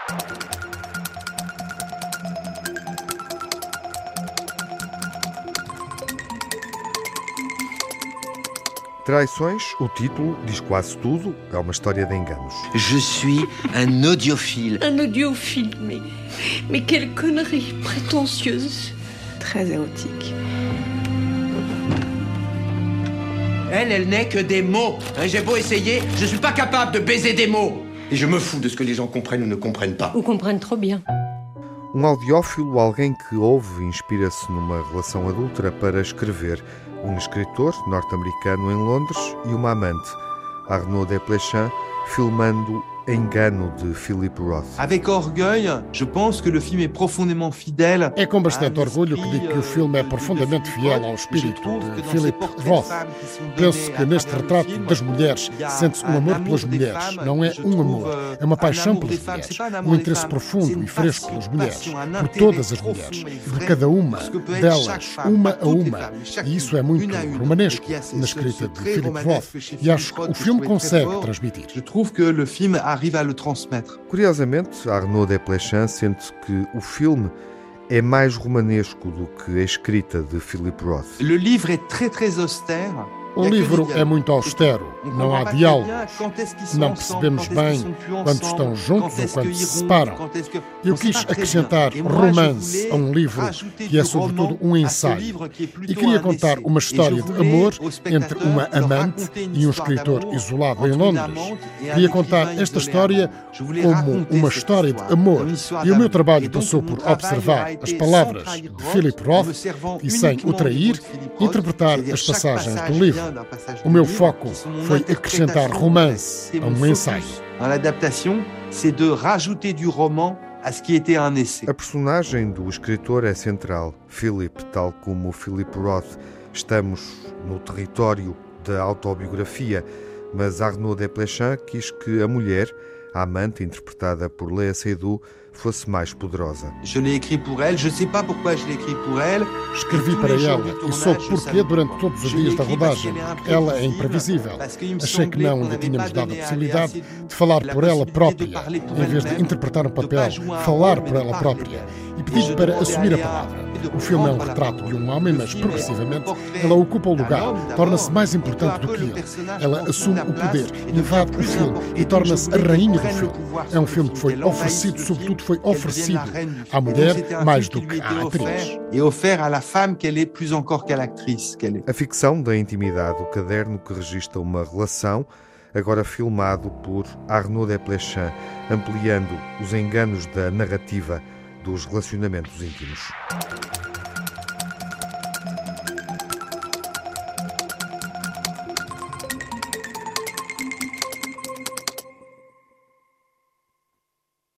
Traições, o título diz quase tudo, é uma história de enganos. Je suis un audiophile. Un audiophile, mais quelle connerie prétentieuse. Très érotique. Elle n'est que des mots. J'ai beau essayer, je suis pas capable de baiser des mots. Et je me fous de ce que les gens comprennent ou ne comprennent pas. Ou comprennent trop bien. Um audiófilo, alguém que ouve e inspira-se numa relação adúltera para escrever. Um escritor norte-americano em Londres e uma amante, Arnaud Desplechin, filmando Engano de Philip Roth. Avec orgueil, je pense que le film est profondément fidèle. É com bastante orgulho que digo que o filme é profundamente fiel ao espírito de Philip Roth. Penso que neste retrato das mulheres sente-se um amor pelas mulheres. Não é um amor, é uma paixão pelas mulheres. Um interesse profundo e fresco pelas mulheres. Por todas as mulheres. De cada uma delas, uma a uma. E isso é muito romanesco na escrita de Philip Roth. E acho que o filme consegue transmitir. Je trouve que le film arrive à le transmettre. Curiosamente, Arnaud Desplechin sente que o filme é mais romanesco do que a escrita de Philip Roth. Le livre est très austère. O livro é muito austero, não há diálogos, não percebemos bem quando estão juntos ou quando se separam. Eu quis acrescentar romance a um livro que é sobretudo um ensaio e queria contar uma história de amor entre uma amante e um escritor isolado em Londres. Queria contar esta história como uma história de amor e o meu trabalho passou por observar as palavras de Philip Roth e, sem o trair, interpretar as passagens do livro. O meu foco foi acrescentar romance a um ensaio. Dans l'adaptation, c'est de rajouter du roman à ce qui était un essai. A personagem do escritor é central. Philip, tal como Philip Roth, estamos no território da autobiografia, mas Arnaud Desplechin quis que a mulher, a amante, interpretada por Léa Seydoux, fosse mais poderosa. Je l'ai écrit pour elle, je sais pas pourquoi je l'ai écrit pour elle. Escrevi para ela e soube porquê durante todos os dias da rodagem. Ela é imprevisível. Achei que não lhe tínhamos dado a possibilidade de falar por ela própria, em vez de interpretar um papel, falar por ela própria. E pedi-lhe para assumir a palavra. O filme é um retrato de um homem, mas progressivamente ela ocupa o lugar, torna-se mais importante do que ele. Ela assume o poder, invade o filme e torna-se a rainha do filme. É um filme que foi oferecido, sobretudo foi oferecido à mulher mais do que à atriz. Et offert à la femme qu'elle est plus encore qu'à l'actrice qu'elle est. A ficção da intimidade, o caderno que registra uma relação, agora filmado por Arnaud Desplechin, ampliando os enganos da narrativa dos relacionamentos íntimos.